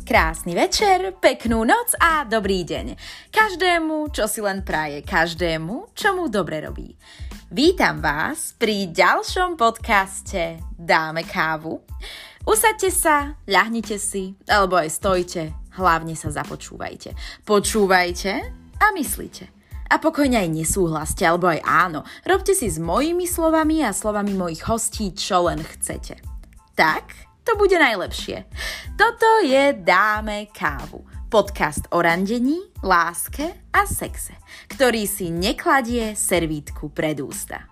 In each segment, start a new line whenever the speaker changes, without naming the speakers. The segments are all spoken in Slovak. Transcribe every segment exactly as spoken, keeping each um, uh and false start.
Krásny večer, peknú noc a dobrý deň. Každému, čo si len praje, každému, čo mu dobre robí. Vítam vás pri ďalšom podcaste Dáme kávu. Usaďte sa, ľahnite si, alebo aj stojte, hlavne sa započúvajte. Počúvajte a myslite. A pokojne aj nesúhlaste, alebo aj áno. Robte si s mojimi slovami a slovami mojich hostí, čo len chcete. Tak to bude najlepšie. Toto je Dáme kávu. Podcast o randení, láske a sexe, ktorý si nekladie servítku pred ústa.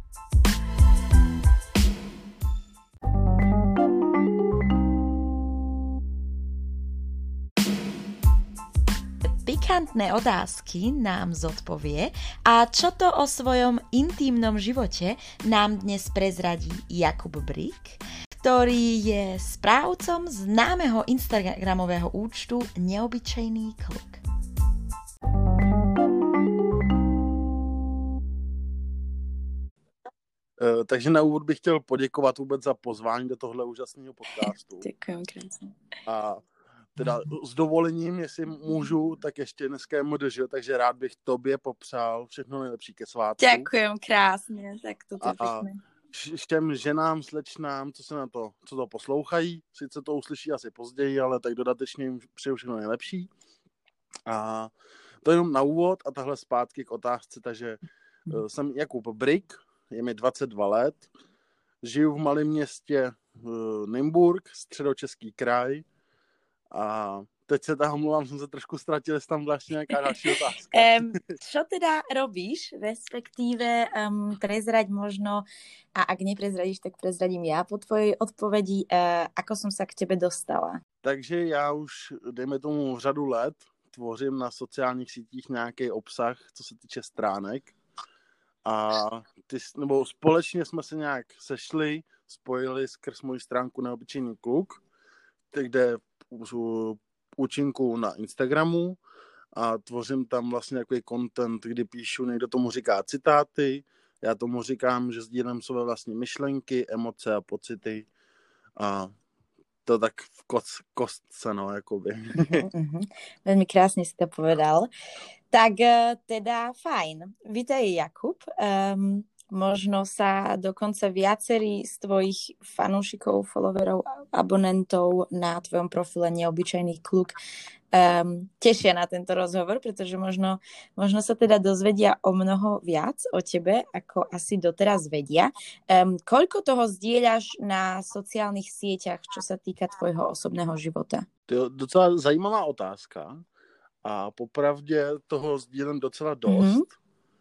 Pikantné otázky nám zodpovie a čo to o svojom intímnom živote nám dnes prezradí Jakub Brík, ktorý je správcom známeho instagramového účtu Neobyčejný kluk.
Uh, takže na úvod bych chtěl poděkovat vůbec za pozvání do tohle úžasného podcastu.
Děkuji krásně.
A teda s dovolením, jestli můžu, tak ještě dneska je em dé žé, takže rád bych tobě popřál všechno nejlepší ke svátku.
Děkujem krásně, tak to je pěkné.
Všem ženám, slečnám, co se na to, co to poslouchají, sice to uslyší asi později, ale tak dodatečně jim přeju všechno nejlepší. A to jenom na úvod a tahle zpátky k otázce, takže hmm. jsem Jakub Brík, je mi dvacet dva let, žiju v malém městě Nymburk, středočeský kraj a teď se tam omlouvám, jsem se trošku ztratil, jestli tam vlastně nějaká další otázka.
Um, čo teda robíš, respektíve um, prezrať možno, a ak neprezradíš, tak prezradím já po tvojej odpovedi, uh, ako som sa k tebe dostala.
Takže já už, dejme tomu, řadu let tvořím na sociálních sítích nějaký obsah, co se týče stránek. A ty, nebo společně jsme se nějak sešli, spojili skrz moji stránku Neobyčejný kluk, kde účinku na Instagramu a tvořím tam vlastně takový content, kdy píšu, někdo tomu říká citáty, já tomu říkám, že sdílím své vlastní myšlenky, emoce a pocity a to tak v koc, kostce, no, jakoby.
Uh-huh. Veľmi krásne si to povedal. Tak teda fajn. Vítaj, Jakub. Um, možno sa dokonca viacerí z tvojich fanúšikov, followerov, abonentov na tvojom profile Neobyčejný kluk um, tešia na tento rozhovor, pretože možno, možno sa teda dozvedia o mnoho viac o tebe, ako asi doteraz vedia. Um, koľko toho zdieľaš na sociálnych sieťach, čo sa týka tvojho osobného života?
To je docela zajímavá otázka a popravdě toho sdílím docela dost. Mm-hmm.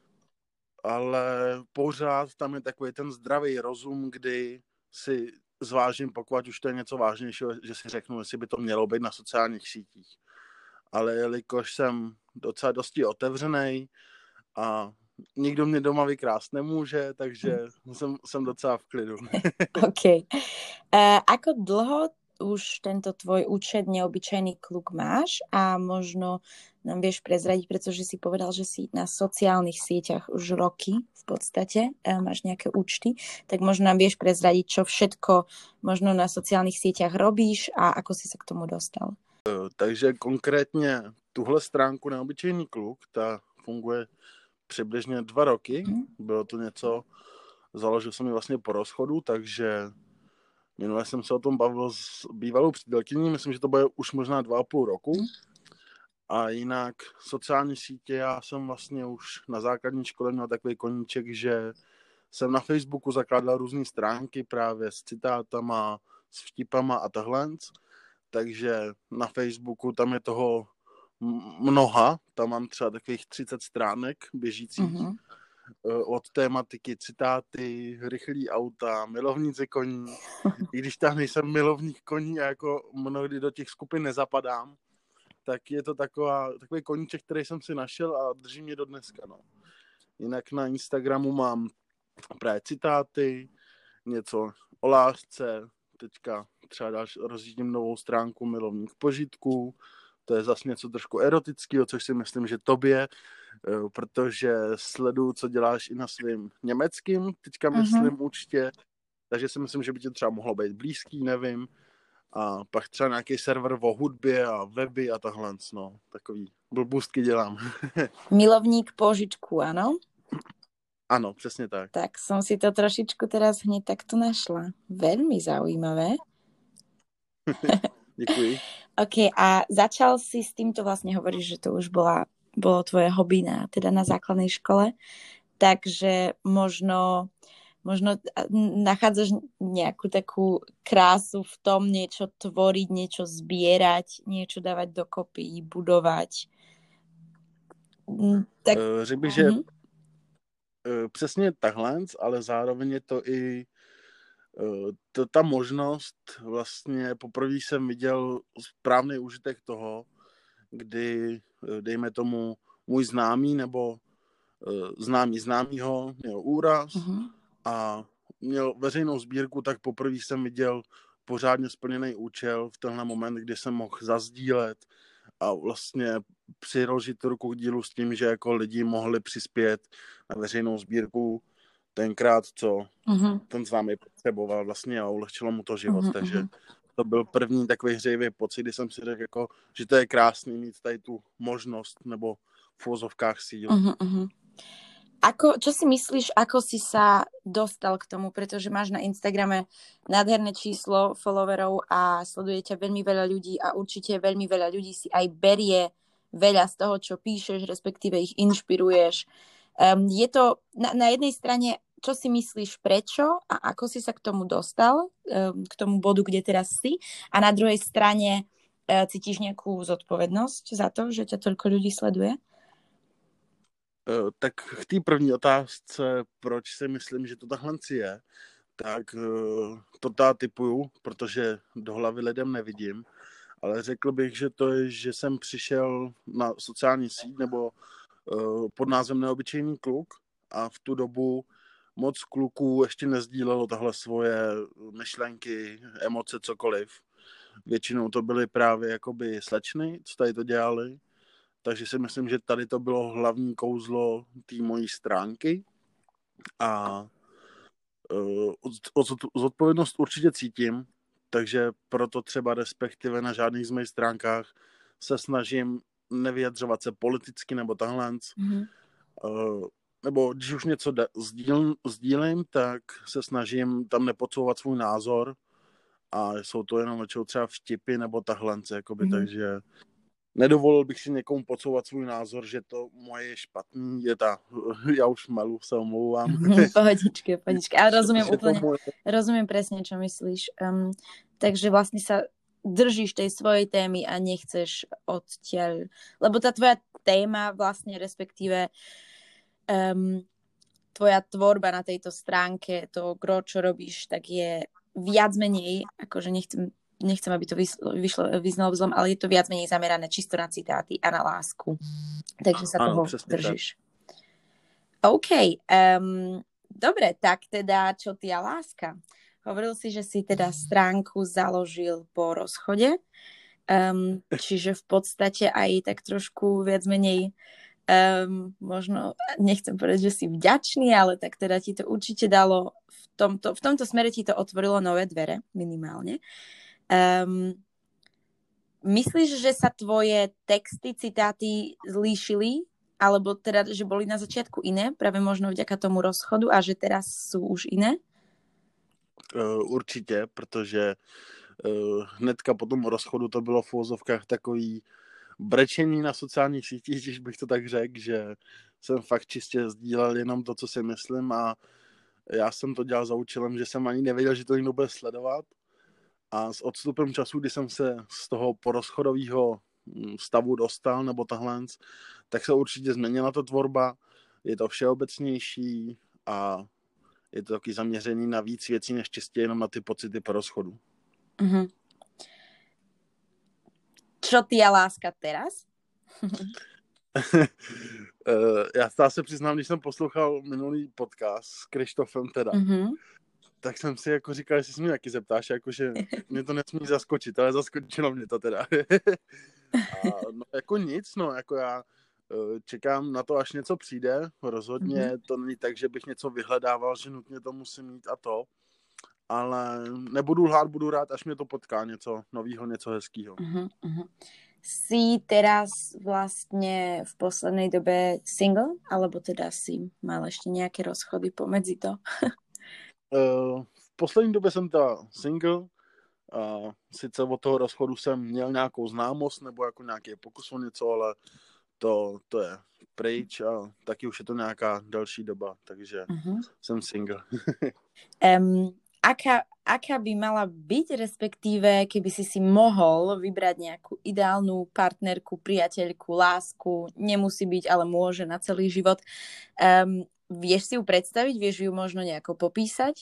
Ale pořád tam je takový ten zdravý rozum, kdy si zvážím, pokud už to je něco vážnějšího, že si řeknu, jestli by to mělo být na sociálních sítích. Ale jelikož jsem docela dosti otevřenej a nikdo mě doma vykrást nemůže, takže jsem, jsem docela v klidu.
OK. Uh, ako dlho už tento tvoj účet Neobyčejný kluk máš a možno nám vieš prezradiť, pretože si povedal, že si na sociálnych sieťach už roky v podstate máš nejaké účty, tak možno nám vieš prezradiť, čo všetko možno na sociálnych sieťach robíš a ako si sa k tomu dostal.
Takže konkrétně tuhle stránku Neobyčejný kluk, ta funguje přibližně dva roky. Hmm. Bylo to něco, založil jsem ji vlastně po rozchodu, takže minule jsem se o tom bavil s bývalou přítelkyní, myslím, že to bude už možná dva a půl roku. Hmm. A jinak sociální sítě, já jsem vlastně už na základní škole měl takový koníček, že jsem na Facebooku zakládal různé stránky právě s citátama, s vtipama a tahle. Takže na Facebooku tam je toho mnoha, tam mám třeba takových třicet stránek běžících. Mm-hmm. Od tématiky citáty, rychlý auta, milovníci koní. I když tam nejsem milovník koní a jako mnohdy do těch skupin nezapadám, tak je to taková, takový koníček, který jsem si našel a drží mě do dneska. No. Jinak na Instagramu mám právě citáty, něco o lásce, teďka třeba další, rozjíždím novou stránku Milovník požitků, to je zase něco trošku erotického, což si myslím, že tobě, protože sleduju, co děláš i na svým německým, teďka myslím mm-hmm. určitě, takže si myslím, že by ti třeba mohlo být blízký, nevím. a pak třeba nějaký server o hudbě a weby a tahle, no, takový blbůstky dělám.
Milovník požičku, ano?
Ano, přesně tak.
Tak som si to trošičku teraz hneď takto našla. Veľmi zaujímavé.
Děkuji.
OK, a začal si s týmto, vlastne hovoríš, že to už bola, bolo tvoje hobby na, teda na základnej škole, takže možno, možno nachádzaš nejakú takú krásu v tom niečo tvoriť, niečo zbierať, niečo dávať dokopy, budovať.
Tak... Řekl bych, že uh-huh. přesně takhle, ale zároveň je to i to, ta možnost, vlastně poprvé jsem viděl správný užitek toho, kdy, dejme tomu, můj známý nebo známý známýho měl úraz uh-huh. a měl veřejnou sbírku, tak poprvé jsem viděl pořádně splněný účel v tenhle moment, kdy jsem mohl zazdílet a vlastně přiložit ruku k dílu s tím, že jako lidi mohli přispět na veřejnou sbírku tenkrát, co uh-huh. ten známý potřeboval vlastně a ulehčilo mu to život, uh-huh. takže to byl první takový hřejivý pocit, kdy jsem si řekl, jako, že to je krásný mít tady tu možnost nebo v úvozovkách sílu.
Uh-huh, uh-huh. Ako, čo si myslíš, ako si sa dostal k tomu, pretože máš na Instagrame nádherné číslo followerov a sleduje ťa veľmi veľa ľudí a určite veľmi veľa ľudí si aj berie veľa z toho, čo píšeš, respektíve ich inšpiruješ. Um, je to na, na jednej strane, čo si myslíš, prečo a ako si sa k tomu dostal, um, k tomu bodu, kde teraz si, a na druhej strane uh, cítiš nejakú zodpovednosť za to, že ťa toľko ľudí sleduje?
Uh, tak k té první otázce, proč si myslím, že to takhle je, tak uh, to tá typuju, protože do hlavy lidem nevidím, ale řekl bych, že to je, že jsem přišel na sociální síť nebo pod názvem Neobyčejný kluk a v tu dobu moc kluků ještě nezdílelo tahle svoje myšlenky, emoce, cokoliv. Většinou to byly právě jakoby slečny, co tady to dělali, takže si myslím, že tady to bylo hlavní kouzlo té mojí stránky a zodpovědnost určitě cítím, takže proto třeba respektive na žádných z mých stránkách se snažím nevyjadřovat se politicky nebo tahle. Mm-hmm. Uh, nebo když už něco da- sdíl, sdílím, tak se snažím tam nepodsouvat svůj názor a jsou to jenom třeba vtipy nebo tahle, jakoby, mm-hmm. takže nedovolil bych si někomu podsouvat svůj názor, že to moje je špatný, je ta, já už malu, se omlouvám.
Pohodičky, pohodičky, ale rozumiem úplne, moje... rozumiem presne, čo myslíš. Um, takže vlastne sa držíš tej svojej témy a nechceš odtiaľ, lebo tá tvoja téma vlastne, respektíve um, tvoja tvorba na tejto stránke, to gro, čo robíš, tak je viac menej, akože nechcem, nechcem aby to vyšlo, vyznalo vzlom, ale je to viac menej zamerané čisto na citáty a na lásku. Takže sa
ano,
toho držíš. Tak. OK. Um, dobre, tak teda, čo ty a láska? Hovoril si, že si teda stránku založil po rozchode, um, čiže v podstate aj tak trošku viac menej um, možno, nechcem povedať, že si vďačný, ale tak teda ti to určite dalo v tomto, v tomto smere ti to otvorilo nové dvere, minimálne. Um, myslíš, že sa tvoje texty, citáty zlíšili, alebo teda, že boli na začiatku iné, práve možno vďaka tomu rozchodu a že teraz sú už iné?
Uh, určitě, protože uh, hnedka po tom rozchodu to bylo v uvozovkách takový brečení na sociálních sítích, když bych to tak řekl, že jsem fakt čistě sdílel jenom to, co si myslím a já jsem to dělal za účelem, že jsem ani nevěděl, že to někdo bude sledovat a s odstupem času, kdy jsem se z toho porozchodového stavu dostal, nebo tahle, tak se určitě změnila ta tvorba, je to všeobecnější a je to taky zaměřený na víc věcí, než čistě jenom na ty pocity po rozchodu.
Mm-hmm. Čo ty a láska teraz?
Já stále se přiznám, když jsem poslouchal minulý podcast s Krištofem teda, mm-hmm. tak jsem si jako říkal, že si mě taky zeptáš, jako, že mě to nesmí zaskočit, ale zaskočilo mě to teda. A no, jako nic, no, jako já čekám na to, až něco přijde. Rozhodně mm-hmm. to není tak, že bych něco vyhledával, že nutně to musím mít a to. ale nebudu lhát, budu rád, až mě to potká něco novýho, něco hezkýho.
Uh-huh, uh-huh. Si teraz vlastne v poslednej dobe single, alebo teda si mal ešte nejaké rozchody pomedzi to?
uh, v poslední době jsem teda single. Uh, sice od toho rozchodu jsem měl nějakou známost nebo jako nějaký pokus o něco, ale to, to je pryč a taky už je to nějaká další doba, takže uh-huh. jsem single.
um, aká, aká by mala byť, respektíve keby si si mohol vybrať nejakú ideálnu partnerku, priateľku, lásku, nemusí byť, ale môže na celý život. Um, vieš si ju predstaviť? Vieš ju možno nejako popísať?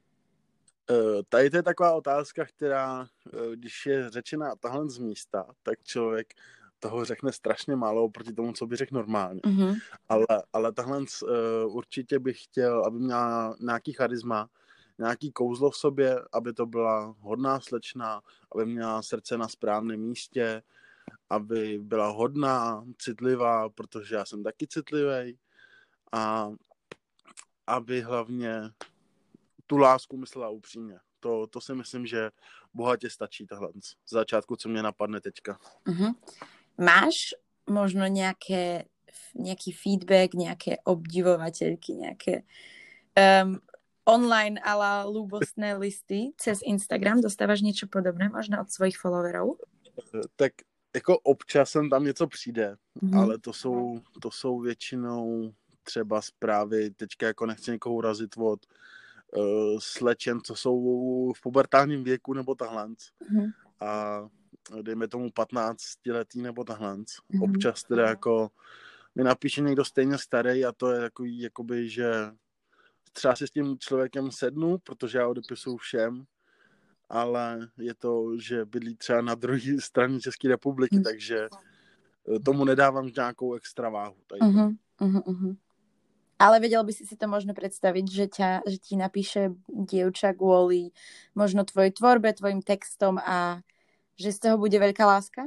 Uh, tady to je taková otázka, která, uh, když je řečená tahle z místa, tak člověk toho řekne strašně málo proti tomu, co by řekl normálně. Mm-hmm. Ale, ale tahle uh, určitě bych chtěl, aby měla nějaký charisma, nějaký kouzlo v sobě, aby to byla hodná slečna, aby měla srdce na správném místě, aby byla hodná, citlivá, protože já jsem taky citlivý, a aby hlavně tu lásku myslela upřímně. To, to si myslím, že bohatě stačí tohle. Z začátku, co mě napadne teďka. Uh-huh.
Máš možno nejaké, nejaký feedback, nejaké obdivovateľky, nejaké um, online ala ľúbostné listy cez Instagram? Dostávaš niečo podobné možno od svojich followerov?
Tak jako občas sem tam něco přijde, uh-huh. ale to jsou, to jsou většinou třeba zprávy, teďka jako nechci někoho urazit od uh, slečen, co jsou v pubertálním věku nebo tahlanc. Uh-huh. A dejme tomu patnáctiletý nebo tahlanc. Mm-hmm. Občas teda jako mi napíše někdo stejně starý a to je takový, jakoby, že třeba si s tím člověkem sednu, protože já odepisuju všem, ale je to, že bydlí třeba na druhé straně České republiky, mm-hmm. takže tomu nedávám nějakou extra váhu.
Mm-hmm. Mm-hmm. Ale vedel by si si to možno predstaviť, že, ťa, že ti napíše dievča kvôli možno tvojej tvorbe, tvojim textom a že z toho bude veľká láska?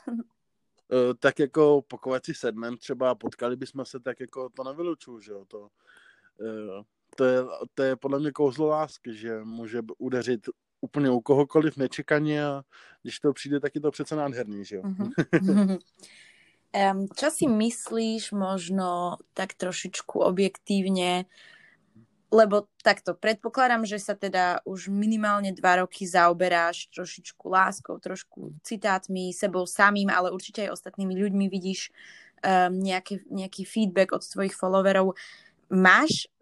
Uh, tak jako pokud si sedmem třeba potkali bychom se, tak jako to nevylučuju, že jo. To, uh, to, je, to je podle mě kouzlo lásky, že může udeřit úplně u kohokoliv nečekaně a když to přijde, tak je to přece nádherný, že jo.
Uh-huh. um, čo si myslíš možno tak trošičku objektívne, lebo takto, predpokladám, že sa teda už minimálne dva roky zaoberáš trošičku láskou, trošku citátmi, sebou samým, ale určite aj ostatnými ľuďmi vidíš um, nejaký, nejaký feedback od svojich followerov. Máš,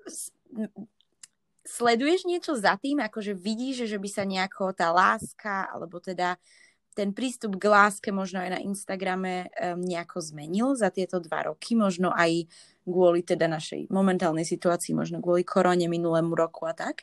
sleduješ niečo za tým, akože vidíš, že by sa nejako tá láska, alebo teda ten prístup k láske možno aj na Instagrame um, nejako zmenil za tieto dva roky, možno aj kvôli teda našej momentálnej situácii, možno kvôli korone minulému roku a tak?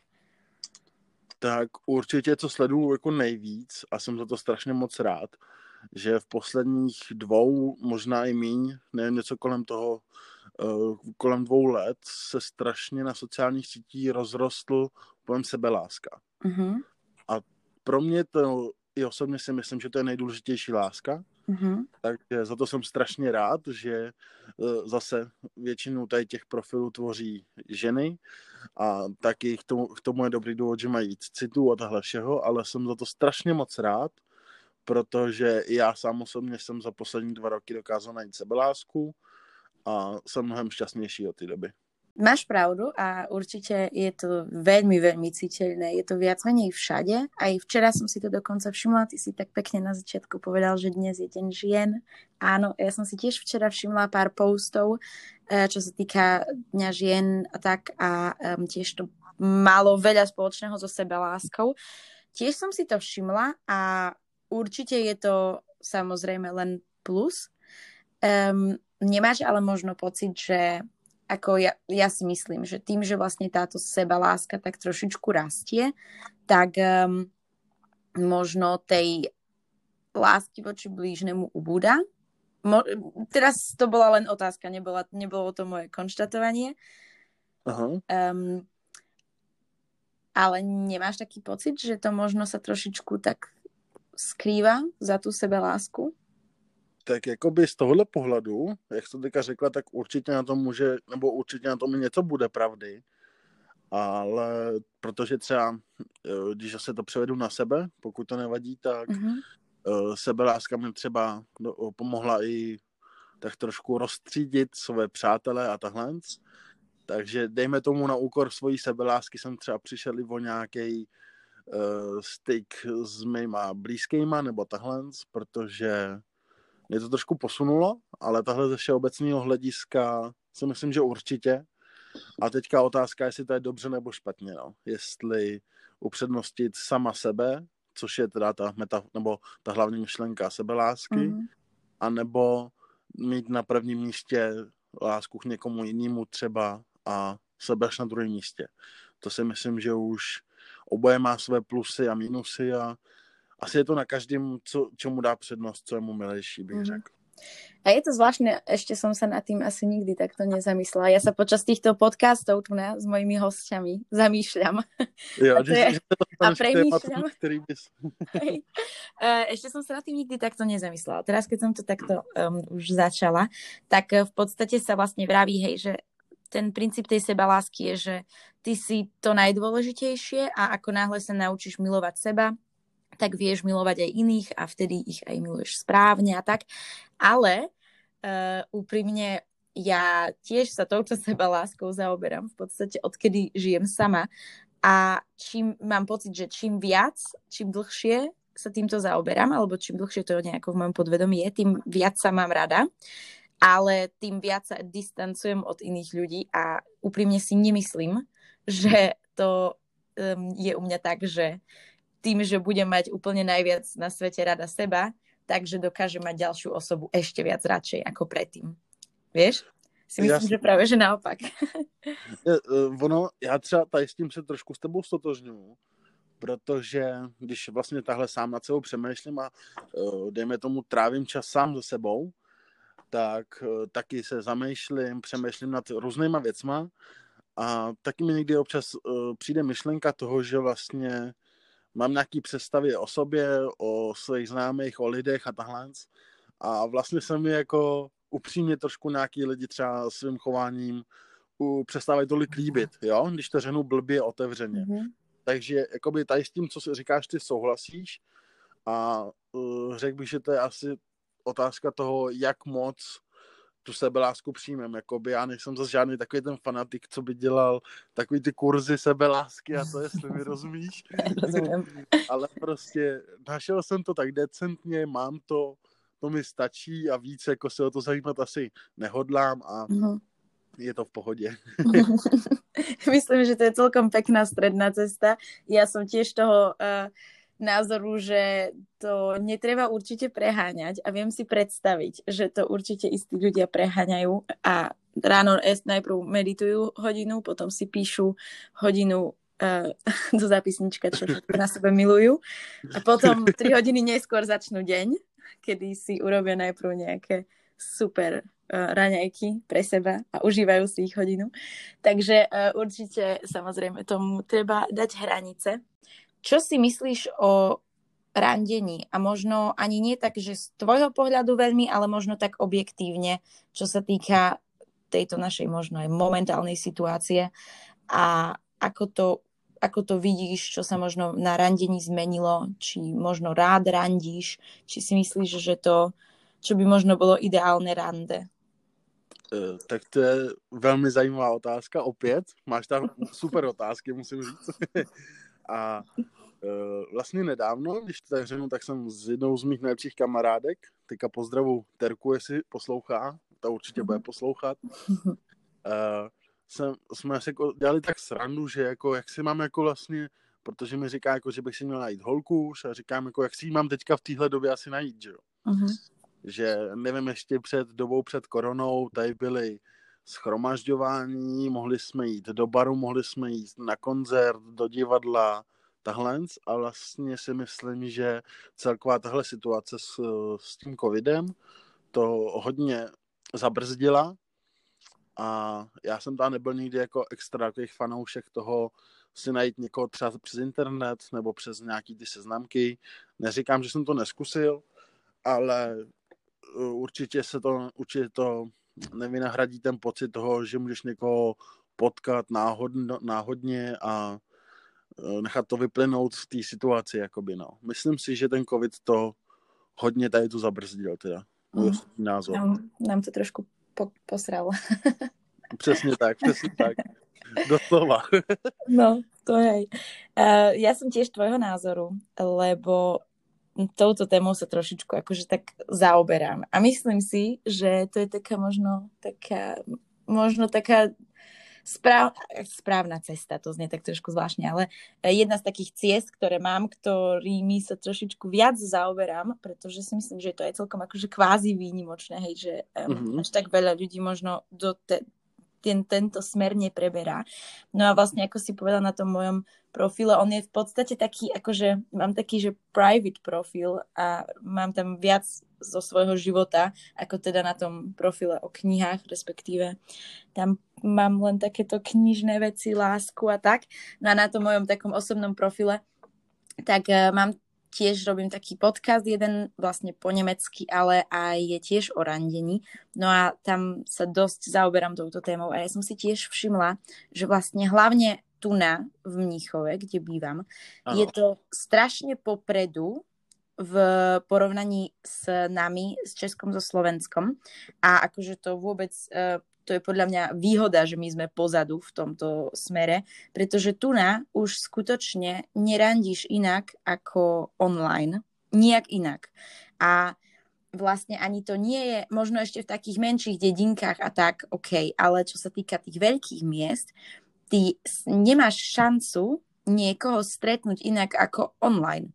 Tak určitě, co sleduju jako nejvíc a jsem za to strašně moc rád, že v posledních dvou, možná i míň, nevím, něco kolem toho, uh, kolem dvou let se strašně na sociálních sítích rozrostl pojem sebeláska. Uh-huh. A pro mě to i osobně si myslím, že to je nejdůležitější láska. Mm-hmm. Takže za to jsem strašně rád, že zase většinu tady těch profilů tvoří ženy a taky k tomu, k tomu je dobrý důvod, že mají víc citů a tahle všeho, ale jsem za to strašně moc rád, protože já sám osobně jsem za poslední dva roky dokázal najít sebelásku a jsem mnohem šťastnější od té doby.
Máš pravdu a určite je to veľmi, veľmi citeľné. Je to viac menej všade. Aj včera som si to dokonca všimla. Ty si tak pekne na začiatku povedal, že dnes je deň žien. Áno, ja som si tiež včera všimla pár postov, čo sa týka Dňa žien a tak. A um, tiež to malo veľa spoločného so sebeláskou. Tiež som si to všimla a určite je to samozrejme len plus. Um, nemáš ale možno pocit, že ako ja, ja si myslím, že tým, že vlastne táto sebaláska tak trošičku rastie, tak um, možno tej lásky voči blížnemu ubúda. Mo- teraz to bola len otázka, nebola, nebolo to moje konštatovanie. Uh-huh. Um, ale nemáš taký pocit, že to možno sa trošičku tak skrýva za tú sebelásku?
Tak jakoby z tohohle pohledu, jak jsi to teďka řekla, tak určitě na tom může, nebo určitě na tom něco bude pravdy. ale protože třeba, když se to převedu na sebe, pokud to nevadí, tak mm-hmm. sebeláska mi třeba pomohla i tak trošku rozstřídit své přátelé a tahle. Takže dejme tomu na úkor svojí sebelásky jsem třeba přišel i o nějaký uh, styk s mýma blízkýma nebo tahle, protože mě to trošku posunulo, ale tahle ze všeobecného hlediska si myslím, že určitě. A teďka otázka, jestli to je dobře nebo špatně. No. Jestli upřednostit sama sebe, což je teda ta meta, nebo ta hlavní myšlenka sebelásky, mm-hmm. anebo mít na prvním místě lásku k někomu jinému třeba a sebe až na druhém místě. To si myslím, že už oboje má své plusy a minusy a asi je to na každém, co, čemu dá přednost, co je mu milejší, bych mm-hmm. řekl.
A je to zvláštne, ešte som sa nad tým asi nikdy takto nezamyslela. Ja sa počas týchto podcastov tu na, s mojimi hostiami zamýšľam.
Jo,
a, to je, a premýšľam.
Ktorý bys...
Ešte som sa nad tým nikdy takto nezamyslela. Teraz, keď som to takto um, už začala, tak v podstate sa vlastne vraví, hej, že ten princíp tej sebalásky je, že ty si to najdôležitejšie a ako náhle sa naučíš milovať seba, tak vieš milovať aj iných a vtedy ich aj miluješ správne a tak. Ale uh, úprimne ja tiež sa touto sebaláskou zaoberám v podstate odkedy žijem sama a čím mám pocit, že čím viac, čím dlhšie sa týmto zaoberám, alebo čím dlhšie to nejako v mojom podvedomí je, tým viac sa mám rada, ale tým viac sa distancujem od iných ľudí a úprimne si nemyslím, že to um, je u mňa tak, že tým, že budem mať úplne najviac na svete rada seba, takže dokážem mať ďalšiu osobu ešte viac radšej ako predtým. Vieš? Si myslím, Jasne. Že práve, že naopak.
Ono, já třeba tady s tím se trošku s tebou stotožňuju, protože když vlastně tahle sám nad sebou přemýšlím a dejme tomu trávím čas sám se sebou, tak taky se zamýšlím, přemýšlím nad různýma věcma a taky mi někdy občas přijde myšlenka toho, že vlastně mám nějaký představy o sobě, o svých známých, o lidech a tahle. A vlastně se mi jako upřímně trošku nějaký lidi třeba svým chováním přestávají tolik líbit, jo? Když to řeknu blbě otevřeně. Mm-hmm. Takže jakoby tady s tím, co si říkáš, ty souhlasíš a uh, řekl bych, že to je asi otázka toho, jak moc tu sebelásku přijmem. Jakoby já nejsem zase žádný takový ten fanatik, co by dělal takový ty kurzy sebelásky a to, jestli mi rozumíš. Ale prostě našel jsem to tak decentně, mám to, to mi stačí a víc jako se o to zajímat asi nehodlám a uh-huh. je to v pohodě.
Myslím, že to je celkom pekná stredná cesta. Ja som tiež toho uh, názoru, že to netreba určite preháňať a viem si predstaviť, že to určite istí ľudia preháňajú a ráno najprv meditujú hodinu, potom si píšu hodinu uh, do zápisnička, čo na sebe milujú a potom tri hodiny neskôr začnú deň, kedy si urobia najprv nejaké super uh, raňajky pre seba a užívajú si ich hodinu. Takže uh, určite samozrejme tomu treba dať hranice. Čo si myslíš o randení? A možno ani nie tak, že z tvojho pohľadu veľmi, ale možno tak objektívne, čo sa týka tejto našej možno aj momentálnej situácie a ako to, ako to vidíš, čo sa možno na randení zmenilo, či možno rád randíš, či si myslíš, že to, čo by možno bolo ideálne rande?
Uh, tak to je velmi zajímavá otázka, opět. Máš tam super otázky, musím říct. A uh, vlastně nedávno, když to tak řeknu, tak jsem s jednou z mých nejlepších kamarádek, teďka pozdravu Terku, jestli poslouchá, ta určitě bude poslouchat, uh, jsem, jsme si jako dělali tak srandu, že jako, jak si mám jako vlastně, protože mi říká, jako, že bych si měl najít holku a říkám, jako, jak si ji mám teďka v téhle době asi najít, že jo. Uh-huh. Že nevím, ještě před dobou před koronou tady byly shromažďování, mohli jsme jít do baru, mohli jsme jít na koncert, do divadla, tahle, a vlastně si myslím, že celková tahle situace s, s tím covidem to hodně zabrzdila a já jsem tam nebyl nikdy jako extra takových fanoušek toho si najít někoho třeba přes internet nebo přes nějaký ty seznamky. Neříkám, že jsem to neskusil, ale určitě se to, určitě to nevynahradí ten pocit toho, že můžeš někoho potkat náhodno, náhodně a nechat to vyplynout v té situaci, jakoby, no. Myslím si, že ten covid to hodně tady tu zabrzdil, teda. Můj osobní názor.
Nám, nám to trošku po, posralo.
Přesně tak, přesně tak. Doslova.
No, to hej. Uh, ja som tiež tvojho názoru, lebo touto témou sa trošičku akože tak zaoberám. A myslím si, že to je taká možno taká, možno taká správ, správna cesta, to znie tak trošku zvláštne, ale jedna z takých ciest, ktoré mám, ktorými sa trošičku viac zaoberám, pretože si myslím, že to je celkom akože kvázi výnimočné, hej, že um, mm-hmm. až tak veľa ľudí možno do te, ten, tento smer nepreberá. No a vlastne, ako si povedal na tom mojom profile, on je v podstate taký, akože mám taký, že private profil a mám tam viac zo svojho života, ako teda na tom profile o knihách, respektíve tam mám len takéto knižné veci, lásku a tak. No a na tom mojom takom osobnom profile tak uh, mám tiež, robím taký podcast, jeden vlastne po nemecky, ale aj je tiež o randení. No a tam sa dosť zaoberám touto témou a ja som si tiež všimla, že vlastne hlavne tu na v Mníchove, kde bývam, ano. Je to strašne popredu v porovnaní s nami, s Českom, so Slovenskom. A akože to vôbec, to je podľa mňa výhoda, že my sme pozadu v tomto smere, pretože tu na už skutočne nerandíš inak ako online. Nijak inak. A vlastne ani to nie je, možno ešte v takých menších dedinkách a tak, OK, ale čo sa týka tých veľkých miest, ty nemáš šancu niekoho stretnúť inak ako online.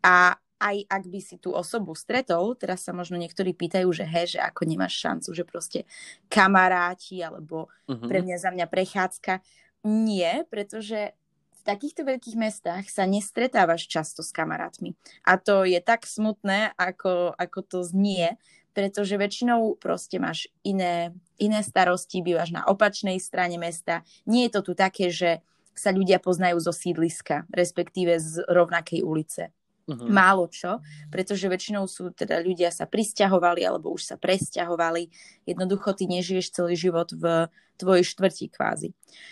A aj ak by si tú osobu stretol, teraz sa možno niektorí pýtajú, že hej, že ako nemáš šancu, že proste kamaráti, alebo uh-huh. pre mňa za mňa prechádzka. Nie, pretože v takýchto veľkých mestách sa nestretávaš často s kamarátmi. A to je tak smutné, ako, ako to znie, pretože väčšinou proste máš iné, iné starosti, bývaš na opačnej strane mesta. Nie je to tu také, že sa ľudia poznajú zo sídliska, respektíve z rovnakej ulice. Uh-huh. Málo čo, pretože väčšinou sú teda ľudia sa prisťahovali alebo už sa presťahovali. Jednoducho ty nežiješ celý život v tvojej štvrti kvázi.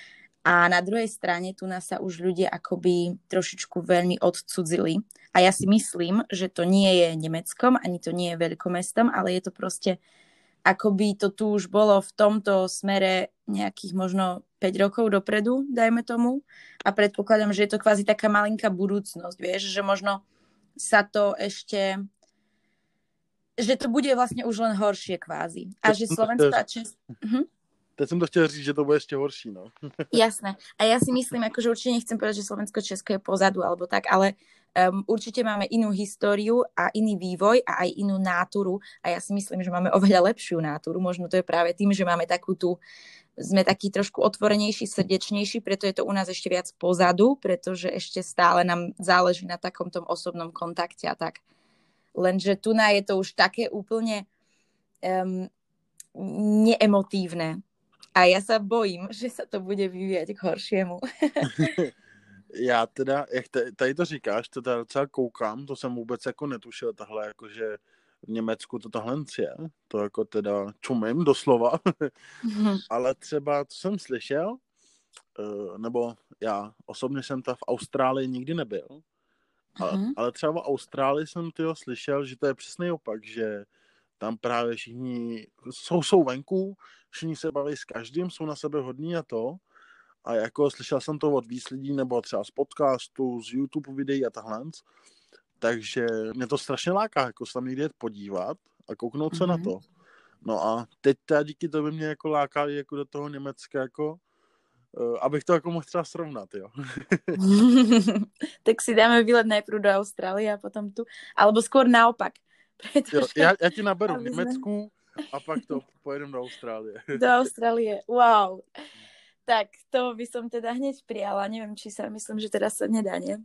A na druhej strane tu nás sa už ľudia akoby trošičku veľmi odcudzili. A ja si myslím, že to nie je Nemeckom, ani to nie je veľkomestom, ale je to proste, akoby to tu už bolo v tomto smere nejakých možno päť rokov dopredu, dajme tomu. A predpokladám, že je to kvázi taká malinká budúcnosť, vieš, že možno sa to ešte, že to bude vlastne už len horšie kvázi. A že Slovensko a Česko... Uh-huh.
Teď som to chtěl říct, že to bude ešte horší, no.
Jasné. A ja si myslím, akože určite nechcem povedať, že Slovensko a Česko je pozadu, alebo tak, ale um, určite máme inú históriu a iný vývoj a aj inú náturu a ja si myslím, že máme oveľa lepšiu náturu. Možno to je práve tým, že máme takú tú, sme taký trošku otvorenejší, srdečnejší, preto je to u nás ešte viac pozadu, pretože ešte stále nám záleží na takom tom osobnom kontakte a tak. Lenže tu na je to už také úplne um, neemotívne. A ja sa bojím, že sa to bude vyvíjať k horšiemu.
Já teda, jak tady to říkáš, to teda docela koukám, to jsem vůbec jako netušil tahle, jakože v Německu to tohle je, to jako teda čumím doslova, mm-hmm. ale třeba, co jsem slyšel, nebo já osobně jsem tam v Austrálii nikdy nebyl, mm-hmm. ale třeba v Austrálii jsem tyho slyšel, že to je přesný opak, že tam právě všichni jsou, jsou venku, všichni se baví s každým, jsou na sebe hodní a to. A jako slyšel jsem to od víc lidí, nebo třeba z podcastu, z YouTube videí a tahle. Takže mě to strašně láká, jako se tam někde podívat a kouknout mm-hmm. se na to. No a teď teda díky to by mě jako láká jako do toho Německa, jako, uh, abych to jako mohl třeba srovnat, jo.
Tak si dáme výlet najprv do Austrálie a potom tu. Alebo skôr naopak.
Pretože... Jo, ja, ja ti naberu v Nemecku a pak to pojedem do Austrálie.
Do Austrálie, wow. Tak to by som teda hneď prijala. Neviem, či sa, myslím, že teraz sa nedá, nie?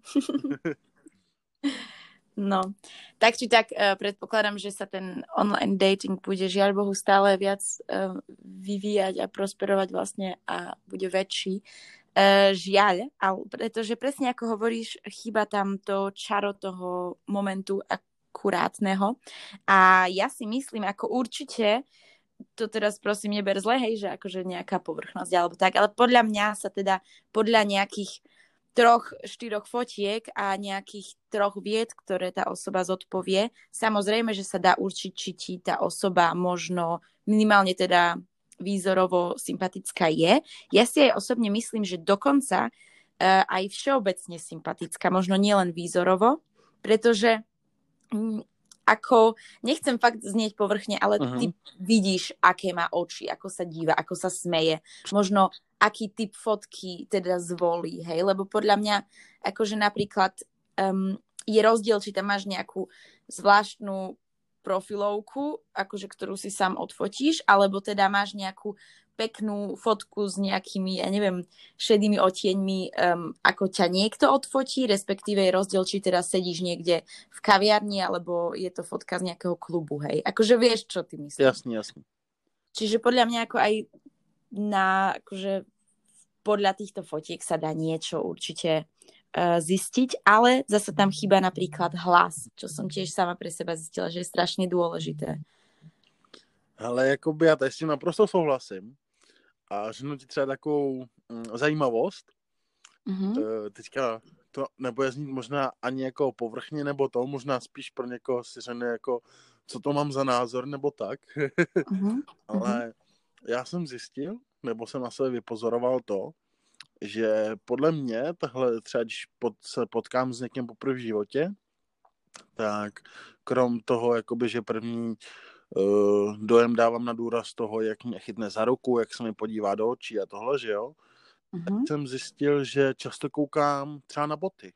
No, tak či tak uh, predpokladám, že sa ten online dating bude žiaľ Bohu stále viac uh, vyvíjať a prosperovať vlastne a bude väčší. Uh, žiaľ, ale pretože presne ako hovoríš, chýba tam to čaro toho momentu a kurátneho. A ja si myslím, ako určite to teraz prosím neber zle, hej, že akože nejaká povrchnosť alebo tak, ale podľa mňa sa teda podľa nejakých troch, štyroch fotiek a nejakých troch vied, ktoré tá osoba zodpovie, samozrejme, že sa dá určiť, či ti tá osoba možno minimálne teda výzorovo sympatická je. Ja si aj osobne myslím, že dokonca uh, aj všeobecne sympatická, možno nielen výzorovo, pretože um, ako, nechcem fakt znieť povrchne, ale uh-huh. ty vidíš, aké má oči, ako sa díva, ako sa smeje, možno aký typ fotky teda zvolí, hej, lebo podľa mňa, akože napríklad um, je rozdiel, či tam máš nejakú zvláštnu profilovku, akože ktorú si sám odfotíš, alebo teda máš nejakú peknú fotku s nejakými, ja neviem, šedými odtieňmi, um, ako ťa niekto odfotí, respektíve je rozdiel, či teda sedíš niekde v kaviarni, alebo je to fotka z nejakého klubu, hej. Akože vieš, čo ty myslíš.
Jasne, jasne.
Čiže podľa mňa ako aj na, akože podľa týchto fotiek sa dá niečo určite uh, zistiť, ale zase tam chýba napríklad hlas, čo som tiež sama pre seba zistila, že je strašne dôležité.
Ale jakoby já tady s tím naprosto souhlasím. A řeknu ti třeba takovou mm, zajímavost. Mm-hmm. E, teďka to nebude znít možná ani jako povrchně nebo to, možná spíš pro někoho si řekne jako, co to mám za názor nebo tak. Mm-hmm. Ale já jsem zjistil, nebo jsem na sebe vypozoroval to, že podle mě tahle třeba, když pod, se potkám s někým poprvé v životě, tak krom toho, jakoby, že první uh, dojem dávám na důraz toho, jak mě chytne za ruku, jak se mi podívá do očí a tohle, že jo, uh-huh. tak jsem zjistil, že často koukám třeba na boty,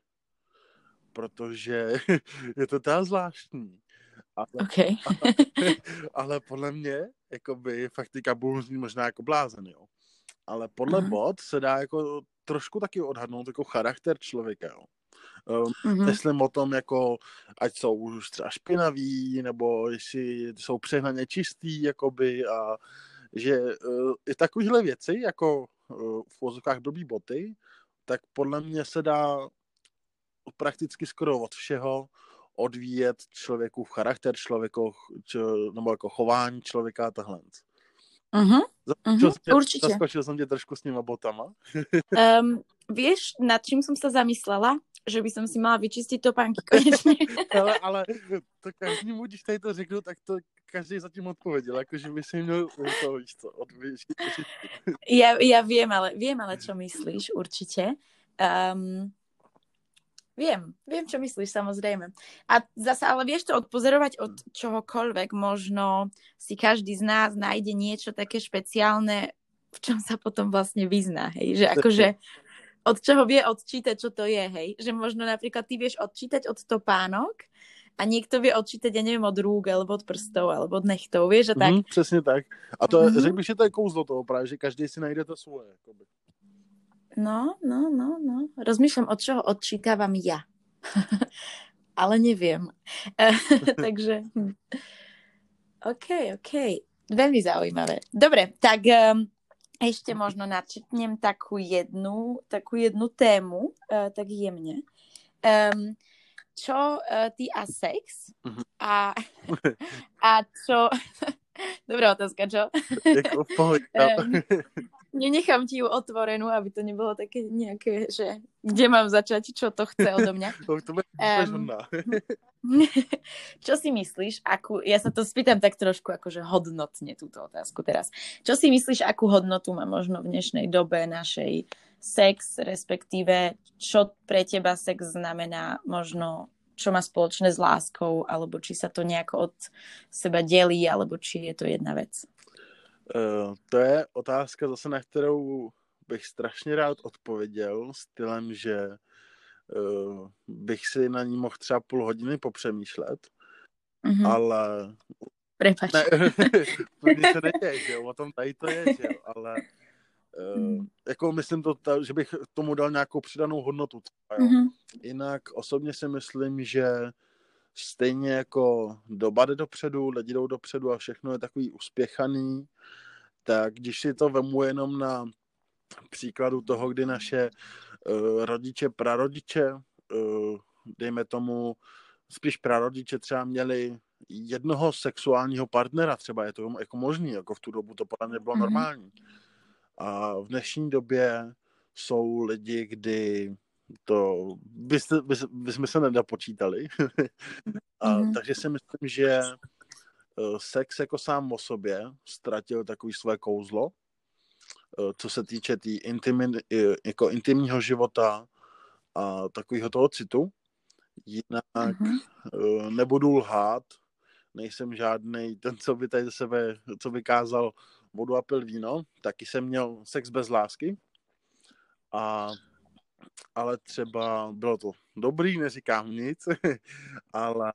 protože je to teda zvláštní. Ale,
okay.
ale, ale podle mě, jakoby, fakt teďka budu znít možná jako blázen, jo. Ale podle uh-huh. bot se dá jako trošku taky odhadnout jako charakter člověka, jo. Um, uh-huh. Myslím o tom, jako, ať jsou už třeba špinaví, nebo jestli jsou přehnaně čistý, jakoby, a že uh, i takovýhle věci, jako uh, v vozovkách blbý boty, tak podle mě se dá prakticky skoro od všeho odvíjet člověku v charakter člověku, č- nebo jako chování člověka a tahle.
Uh-huh. Uh-huh.
Tě,
Určite.
Zaskočil som ťa trošku s nima botama.
um, vieš, nad čím som sa zamyslela? Že by som si mala vyčistiť topánky konečne.
ale, ale to každému, když tady to řeknu, tak to každý zatím odpovedel. Akože by si měl to, víš co, odvyčistiť.
ja, ja viem, ale, viem ale, čo myslíš, určite. Um, Viem, viem, čo myslíš, samozrejme. A zase, ale vieš to odpozorovať od čohokoľvek, možno si každý z nás nájde niečo také špeciálne, v čom sa potom vlastne vyzná, hej, že akože od čoho vie odčítať, čo to je, hej, že možno napríklad ty vieš odčítať od topánok a niekto vie odčítať, ja neviem, od rúk, alebo od prstov, alebo od nechtov, vieš, a tak.
Mm, přesně tak. A to mm-hmm. řekl bych, že to je kouzlo toho právě, že každý si najde to svoje, jakoby.
No, no, no, no. Rozmýšľam, od čoho odčítavam ja. Ale neviem. Takže... Hm. OK, OK. Veľmi zaujímavé. Dobre, tak um, ešte možno načetnem takú jednu, takú jednu tému, uh, tak jemne. Um, čo uh, ty a sex? A, a čo... Dobrá otázka, čo?
Jako pohľad.
um, Nenechám ti ju otvorenú, aby to nebolo také nejaké, že kde mám začať, čo to chce odo mňa. um, čo si myslíš, akú, ja sa to spýtam tak trošku akože hodnotne túto otázku teraz. Čo si myslíš, akú hodnotu má možno v dnešnej dobe našej sex, respektíve čo pre teba sex znamená, možno čo má spoločné s láskou, alebo či sa to nejako od seba delí, alebo či je to jedna vec?
Uh, to je otázka zase, na kterou bych strašně rád odpověděl stylem, že uh, bych si na ní mohl třeba půl hodiny popřemýšlet, mm-hmm. ale...
Prepač.
Ne, to nic se neděje, že jo, o tom tady to je, že jo, ale uh, mm. jako myslím to, ta, že bych tomu dal nějakou přidanou hodnotu. Třeba, jo. Mm-hmm. Jinak osobně si myslím, že stejně jako doba jde dopředu, lidi jdou dopředu a všechno je takový uspěchaný, tak když si to vemu jenom na příkladu toho, kdy naše uh, rodiče, prarodiče, uh, dejme tomu, spíš prarodiče třeba měli jednoho sexuálního partnera, třeba je to jako možný, jako v tu dobu to podle mě bylo mm-hmm. normální. A v dnešní době jsou lidi, kdy to byste, by, by jsme se nedopočítali. A, mm-hmm. Takže si myslím, že sex jako sám o sobě ztratil takový své kouzlo, co se týče tý intimi, jako intimního života a takového toho citu. Jinak mm-hmm. nebudu lhát, nejsem žádnej ten, co by tady sebe, co vykázal vodu a pil víno, taky jsem měl sex bez lásky, a, ale třeba bylo to dobrý, neříkám nic, ale,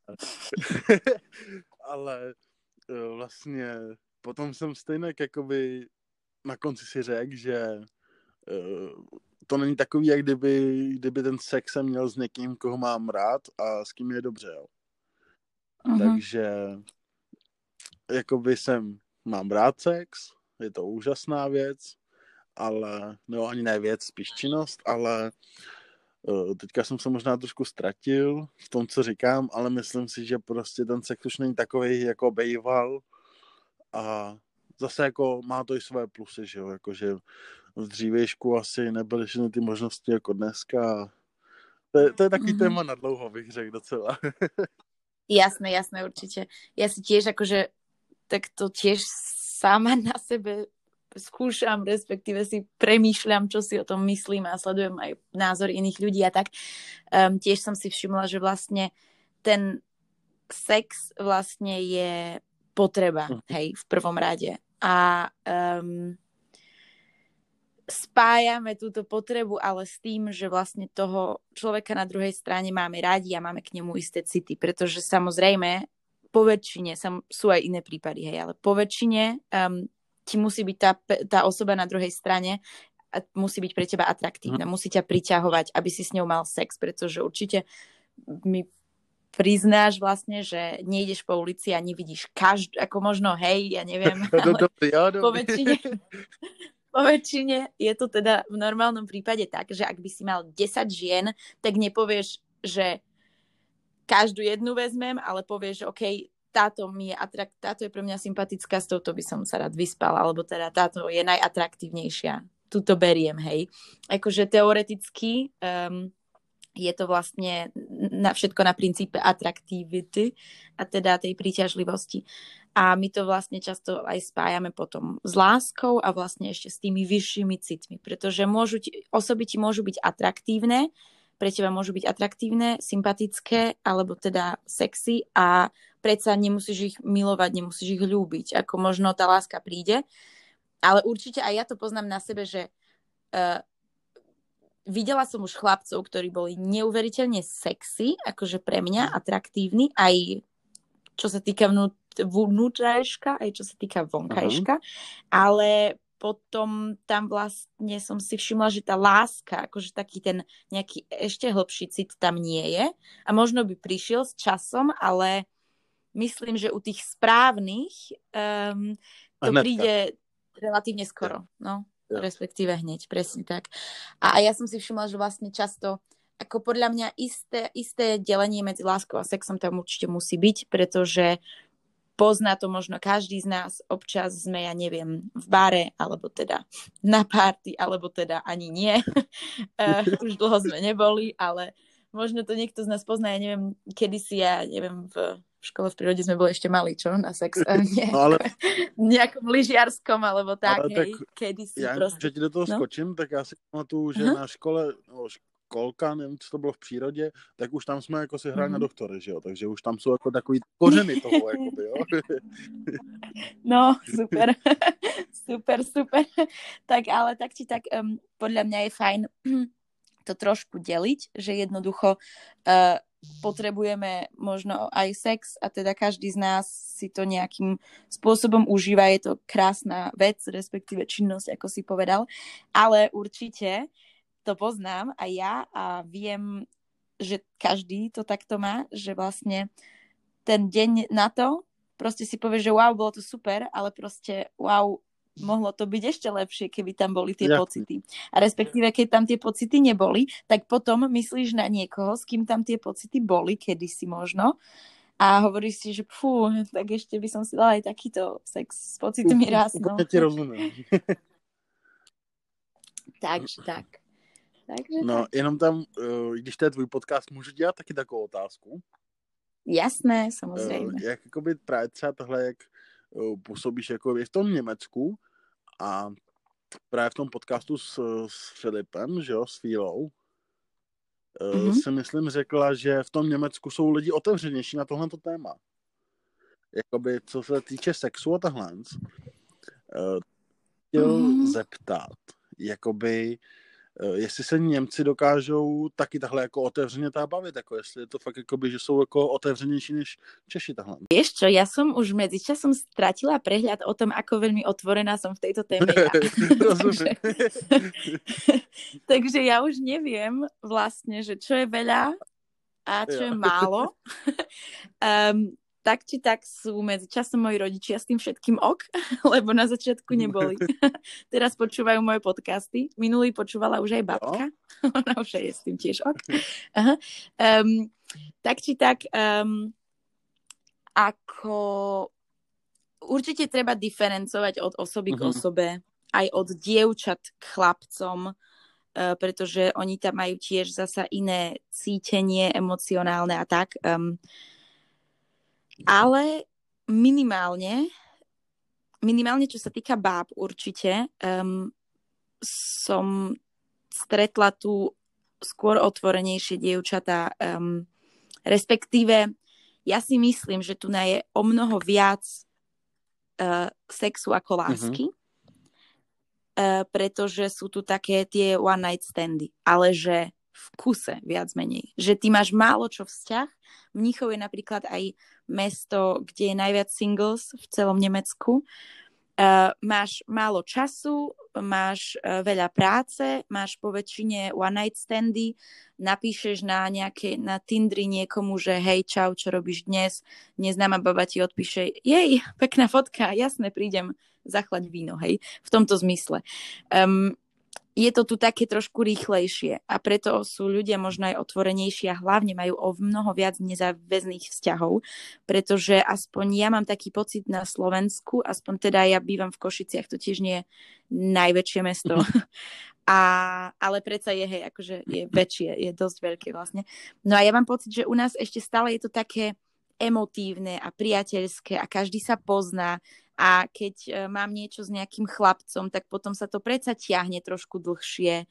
ale vlastně potom jsem stejně jakoby na konci si řekl, že to není takový, jak kdyby, kdyby ten sex jsem měl s někým, koho mám rád a s kým je dobře. Jo. Uh-huh. Takže jakoby jsem, mám rád sex, je to úžasná věc, ale, no ani ne věc, spíš činnost, ale uh, teďka jsem se možná trošku ztratil v tom, co říkám, ale myslím si, že prostě ten sex už není takovej, jako bejval, a zase jako má to i své plusy, že jo, jakože v dřívějšku asi nebyly všechny ty možnosti jako dneska. To je, to je taký mm-hmm. téma na dlouho, bych řekl docela.
Jasné, jasné, určite. Ja si tiež akože tak to tiež sama na sebe skúšam, respektíve si premýšľam, čo si o tom myslím a sledujem aj názor iných ľudí a tak. Um, tiež som si všimla, že vlastne ten sex vlastne je potreba, mm. hej, v prvom rade. A um, spájame túto potrebu, ale s tým, že vlastne toho človeka na druhej strane máme radi a máme k nemu isté city, pretože samozrejme po väčšine, sam, sú aj iné prípady, hej, ale po väčšine um, ti musí byť tá, tá osoba na druhej strane a musí byť pre teba atraktívna, musí ťa priťahovať, aby si s ňou mal sex, pretože určite mi priznáš vlastne, že nejdeš po ulici a nevidíš každú, ako možno, hej, ja neviem, ale po väčšine Po väčšine je to teda v normálnom prípade tak, že ak by si mal desať žien, tak nepovieš, že každú jednu vezmem, ale povieš, že OK, táto, mi je atrakt, táto je pre mňa sympatická, s touto by som sa rád vyspal, alebo teda táto je najatraktívnejšia. Tuto beriem, hej. Akože teoreticky um, je to vlastne na všetko na princípe atraktivity a teda tej príťažlivosti. A my to vlastne často aj spájame potom s láskou a vlastne ešte s tými vyššími citmi, pretože môžu ti, osoby ti môžu byť atraktívne, pre teba môžu byť atraktívne, sympatické, alebo teda sexy a predsa nemusíš ich milovať, nemusíš ich ľúbiť, ako možno tá láska príde. Ale určite aj ja to poznám na sebe, že uh, videla som už chlapcov, ktorí boli neuveriteľne sexy, akože pre mňa atraktívni, aj čo sa týka vnú, vnútrajška, aj čo sa týka vonkajška, uh-huh. ale potom tam vlastne som si všimla, že tá láska, akože taký ten nejaký ešte hlbší cit tam nie je a možno by prišiel s časom, ale myslím, že u tých správnych um, to Hnedka. príde relatívne skoro, ja. no, ja. respektíve hneď, presne tak. A, a ja som si všimla, že vlastne často ako podľa mňa isté, isté delenie medzi láskou a sexom tam určite musí byť, pretože pozná to možno každý z nás, občas sme, ja neviem, v bare, alebo teda na party, alebo teda ani nie. uh, už dlho sme neboli, ale možno to niekto z nás pozná, ja neviem, kedysi, ja neviem, v, v škole v prírode sme boli ešte mali, čo? Na sex, uh, nie, no ale... nejakom lyžiarskom, alebo tak, ale hej, tak kedysi
ja
proste.
Ja ti do toho no? skočím, tak ja si pamatuju, že uh-huh. na škole, no, školka, nevím, co to bylo v přírodě, tak už tam jsme jako si hráli mm. na doktory, že jo, takže už tam jsou jako takový kořeny toho, jakoby, jo.
No, super, super, super. Tak ale tak či tak, um, podľa mňa je fajn to trošku deliť, že jednoducho uh, potrebujeme možno aj sex a teda každý z nás si to nejakým spôsobom užíva, je to krásna vec, respektíve činnosť, ako si povedal, ale určite to poznám aj ja a viem, že každý to takto má, že vlastne ten deň na to proste si povie, že wow, bolo to super, ale proste wow, mohlo to byť ešte lepšie, keby tam boli tie
Jasne.
pocity. A respektíve, keď tam tie pocity neboli, tak potom myslíš na niekoho, s kým tam tie pocity boli, kedysi možno, a hovoríš si, že fú, tak ešte by som si dala aj takýto sex s pocitmi raz. No.
Ja ti rozumím.
Takže tak. Takže
no,
tak.
jenom tam, když to je tvůj podcast, můžu dělat taky takovou otázku?
Jasné, samozřejmě.
Uh, jak jakoby právě třeba tohle, jak uh, působíš jako v tom Německu a právě v tom podcastu s, s Filipem, že jo, s Fílou, uh, mm-hmm. si myslím řekla, že v tom Německu jsou lidi otevřenější na tohleto téma. Jakoby, co se týče sexu a tahle, uh, chtěl mm-hmm. zeptat, jakoby jestli se Němci dokážou taky takhle jako otevřeně tá bavit, jako jestli je to fakt jakoby, že jsou jako otevřenější než Češi tahle.
Vieš čo, ja som už medzičasom stratila prehľad o tom, ako veľmi otvorená som v tejto téme ja. takže, takže ja už neviem vlastne, že čo je veľa a čo ja. je málo. um, tak či tak sú medzi časom moji rodičia s tým všetkým ok, lebo na začiatku neboli. Teraz počúvajú moje podcasty. Minulý počúvala už aj babka. No. Ona už je s tým tiež ok. Aha. Um, tak či tak, um, ako určite treba diferencovať od osoby uh-huh. k osobe, aj od dievčat k chlapcom, uh, pretože oni tam majú tiež zasa iné cítenie emocionálne a tak. Um, Ale minimálne, minimálne čo sa týka báb určite, um, som stretla tu skôr otvorenejšie dievčatá, um, respektíve ja si myslím, že tu je o mnoho viac uh, sexu ako lásky, mm-hmm. uh, pretože sú tu také tie one night standy, ale že v kuse viac menej. Že ty máš málo čo vzťah. Mníchov je napríklad aj mesto, kde je najviac singles v celom Nemecku. Uh, máš málo času, máš uh, veľa práce, máš po väčšine one night standy, napíšeš na nejaké, na Tindri niekomu, že hej, čau, čo robíš dnes? Neznáma baba ti odpíše, jej, pekná fotka, jasné, prídem zachlať víno, hej, v tomto zmysle. Um, Je to tu také trošku rýchlejšie a preto sú ľudia možno aj otvorenejší a hlavne majú o mnoho viac nezáväzných vzťahov, pretože aspoň ja mám taký pocit na Slovensku, aspoň teda ja bývam v Košiciach, to tiež nie je najväčšie mesto, a, ale predsa je, hej, akože je väčšie, je dosť veľké vlastne. No a ja mám pocit, že u nás ešte stále je to také emotívne a priateľské a každý sa pozná. A keď mám niečo s nejakým chlapcom, tak potom sa to predsa ťahne trošku dlhšie.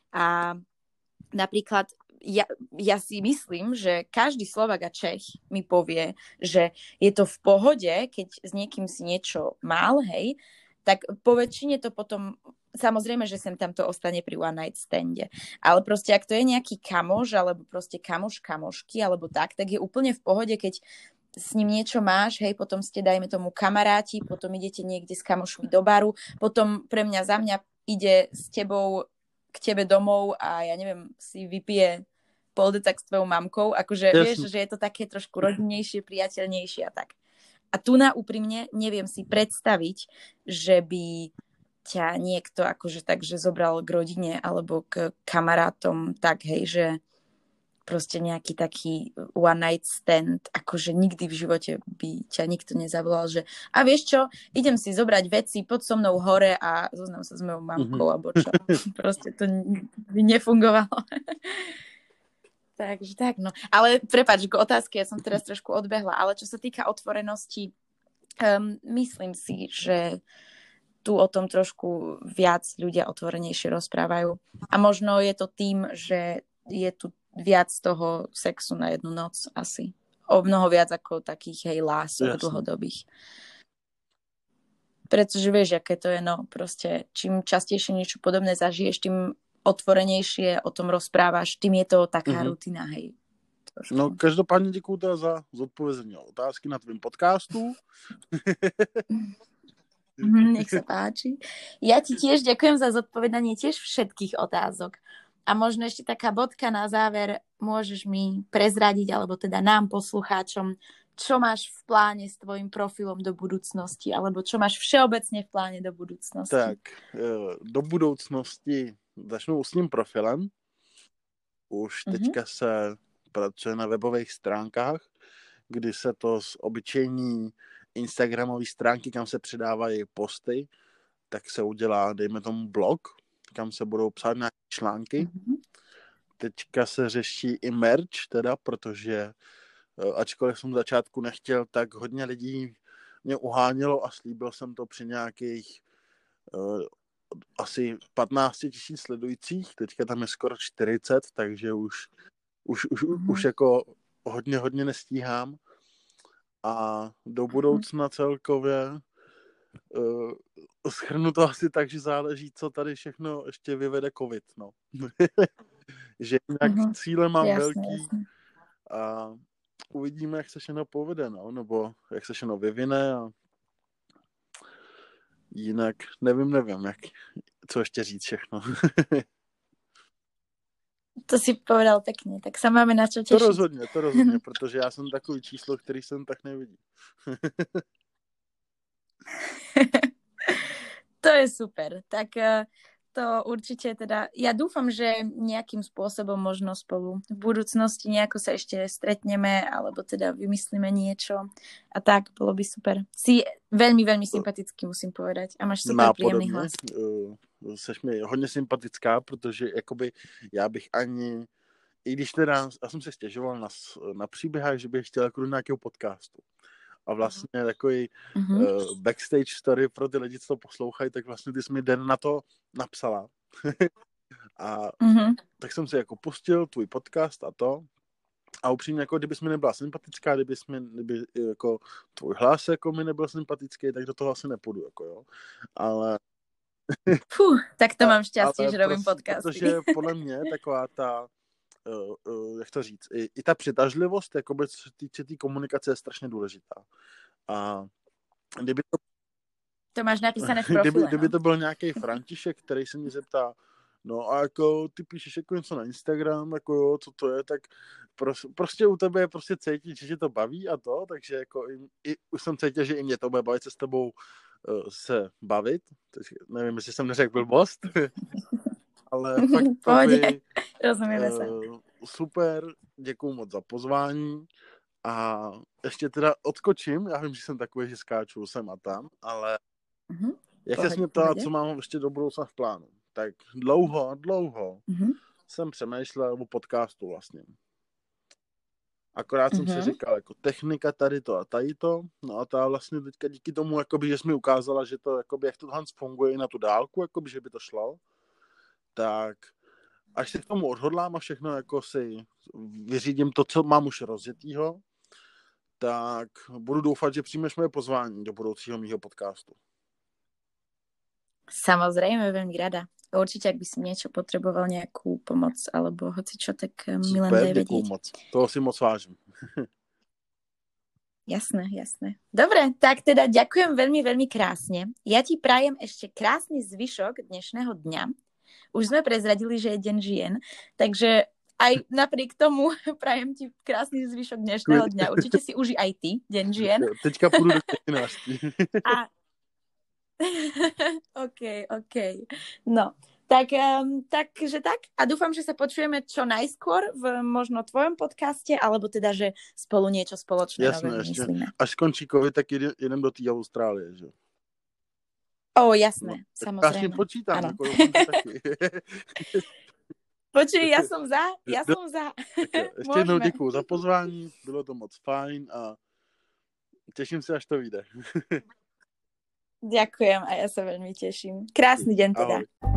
A napríklad ja, ja si myslím, že každý Slovák a Čech mi povie, že je to v pohode, keď s niekým si niečo mal, hej, tak po väčšine to potom, samozrejme, že sem tam to ostane pri one night stande. Ale proste, ak to je nejaký kamoš, alebo proste kamoš kamošky, alebo tak, tak je úplne v pohode, keď s ním niečo máš, hej, potom ste, dajme tomu, kamaráti, potom idete niekde s kamošmi do baru, potom pre mňa, za mňa ide s tebou k tebe domov a ja neviem, si vypije poldetak s tvojou mamkou, akože yes. vieš, že je to také trošku rodinnejšie, priateľnejšie a tak. A tu na úprimne neviem si predstaviť, že by ťa niekto akože tak, že zobral k rodine alebo k kamarátom tak, hej, že proste nejaký taký one night stand, akože nikdy v živote by ťa nikto nezavolal, že a vieš čo, idem si zobrať veci, poď so mnou hore a zoznam sa s mojou mamkou, mm-hmm. alebo čo. Proste to by nefungovalo. Takže tak, no. Ale prepáč, k otázke, ja som teraz trošku odbehla, ale čo sa týka otvorenosti, um, myslím si, že tu o tom trošku viac ľudia otvorenejšie rozprávajú. A možno je to tým, že je tu viac toho sexu na jednu noc asi. O mnoho viac ako takých, hej, lások dlhodobých. Pretože vieš, aké to je, no, proste čím častejšie niečo podobné zažiješ, tým otvorenejšie o tom rozprávaš, tým je to taká mm-hmm. rutina, hej. Trošku.
No, každopádně děkuju teda za zodpovězení otázky na tvým podcastu.
Nech sa páči. Ja ti tiež ďakujem za zodpovedanie tiež všetkých otázok. A možno ešte taká bodka na záver, môžeš mi prezradiť, alebo teda nám, poslucháčom, čo máš v pláne s tvojim profilom do budúcnosti, alebo čo máš všeobecne v pláne do budúcnosti?
Tak, do budoucnosti začnu s tím profilem. Už mm-hmm. teďka se pracuje na webových stránkách, kdy se to z obyčejní instagramové stránky, kam se přidávají posty, tak se udělá, dejme tomu, blog, kam se budou psát nějaké články. Mm-hmm. Teďka se řeší i merch, teda, protože ačkoliv jsem v začátku nechtěl, tak hodně lidí mě uhánělo a slíbil jsem to při nějakých uh, asi patnáct tisíc sledujících. Teďka tam je skoro čtyřicet, takže už, už, už, mm-hmm. už jako hodně, hodně nestíhám. A do budoucna celkově uh, shrnu to asi tak, že záleží, co tady všechno ještě vyvede covid, no. Že jinak mm-hmm. cíle mám jasně, velký jasně. A uvidíme, jak se všechno povede, no, nebo jak se všechno vyvine a jinak nevím, nevím, jak, co ještě říct všechno.
To si povedal pekne, tak sa máme na čo tešiť.
To rozhodně, to rozhodně, protože já jsem takový číslo, který jsem tak nevidí.
To je super. Tak to určite teda, ja dúfam, že nejakým spôsobom možno spolu v budúcnosti nejako sa ešte stretneme, alebo teda vymyslíme niečo a tak, bolo by super. Si veľmi, veľmi sympatický, musím povedať. A máš super príjemný hlas.
Uh, seš mi hodně sympatická, protože jakoby já bych ani, i když teda, já jsem se stěžoval na, na příběhách, že bych chtěl jako do nějakého podcastu. A vlastně takový mm-hmm. uh, backstage story pro ty lidi, co to poslouchají, tak vlastně ty jsi mi den na to napsala. A mm-hmm. tak jsem si jako pustil tvůj podcast a to. A upřímně, jako kdybys mi nebyla sympatická, kdybys mi, kdyby jako tvůj hlas jako mi nebyl sympatický, tak do toho asi nepůjdu, jako jo. Ale...
Fuh, tak to mám šťastie, že robím podcasty.
Protože podle mě taková ta Uh, uh, jak to říct, i, i ta přitažlivost, jakoby, co se týče té komunikace, je strašně důležitá. A kdyby to...
To máš napísané v profile,
kdyby,
no?
kdyby to byl nějaký František, který se mě zeptá, no a jako ty píšeš jako něco na Instagram, jako jo, co to je, tak pros, prostě u tebe je prostě cítit, že tě to baví a to, takže jako i, i, už jsem cítil, že i mě to bude bavit se s tebou uh, se bavit. Teď nevím, jestli jsem neřekl blbost. Ale fakt to by,
rozumíme se.
Uh, super, děkuju moc za pozvání a ještě teda odskočím, já vím, že jsem takový, že skáču sem a tam, ale uh-huh. jak se mě ptala, co mám ještě do budoucna v plánu, tak dlouho, dlouho uh-huh. jsem přemýšlel o podcastu vlastně. Akorát uh-huh. jsem si říkal, jako technika tady to a tady to, no a ta vlastně teďka díky tomu, jakoby, že jsi mi ukázala, že to, jakoby, jak to Hans funguje i na tu dálku, jakoby, že by to šlo, tak až se k tomu odhodlám a všechno jako si vyřídím to, co mám už rozjetýho, tak budu doufat, že přijmeš moje pozvání do budoucího mýho podcastu.
Samozrejme, veľmi rada. Určite, ak by si niečo potreboval, nejakú pomoc alebo hoci čo, tak mi len daj vedieť.
Super, moc. Toho si moc vážim.
Jasné, jasné. Dobre, tak teda ďakujem veľmi, veľmi krásne. Ja ti prajem ešte krásny zvyšok dnešného dňa. Už sme prezradili, že je deň žien, takže aj napriek tomu prajem ti krásny zvyšok dnešného dňa. Určite si uži aj ty deň žien.
Teďka pôjdu do devätnásť.
A... OK, OK. No, tak, um, takže tak. A dúfam, že sa počujeme čo najskôr v možno tvojom podcaste, alebo teda, že spolu niečo spoločné
nové myslíme. Až skončí COVID, tak idem do té Austrálie, že?
Ó, oh, jasné,
no,
samozrejme.
Ja si počítam. Ako
Počuj, ja som za, ja som za.
Ešte jednou děkuju za pozvání, bylo to moc fajn a teším sa, až to vyjde.
Ďakujem a ja sa veľmi teším. Krásny deň teda.
Ahoj.